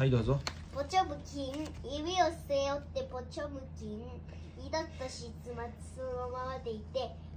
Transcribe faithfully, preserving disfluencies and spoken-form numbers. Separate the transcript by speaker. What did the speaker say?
Speaker 1: はい、どうぞ。
Speaker 2: ポチョムキン、指を背負ってポチョムキン、二度としつまつそのままでいて、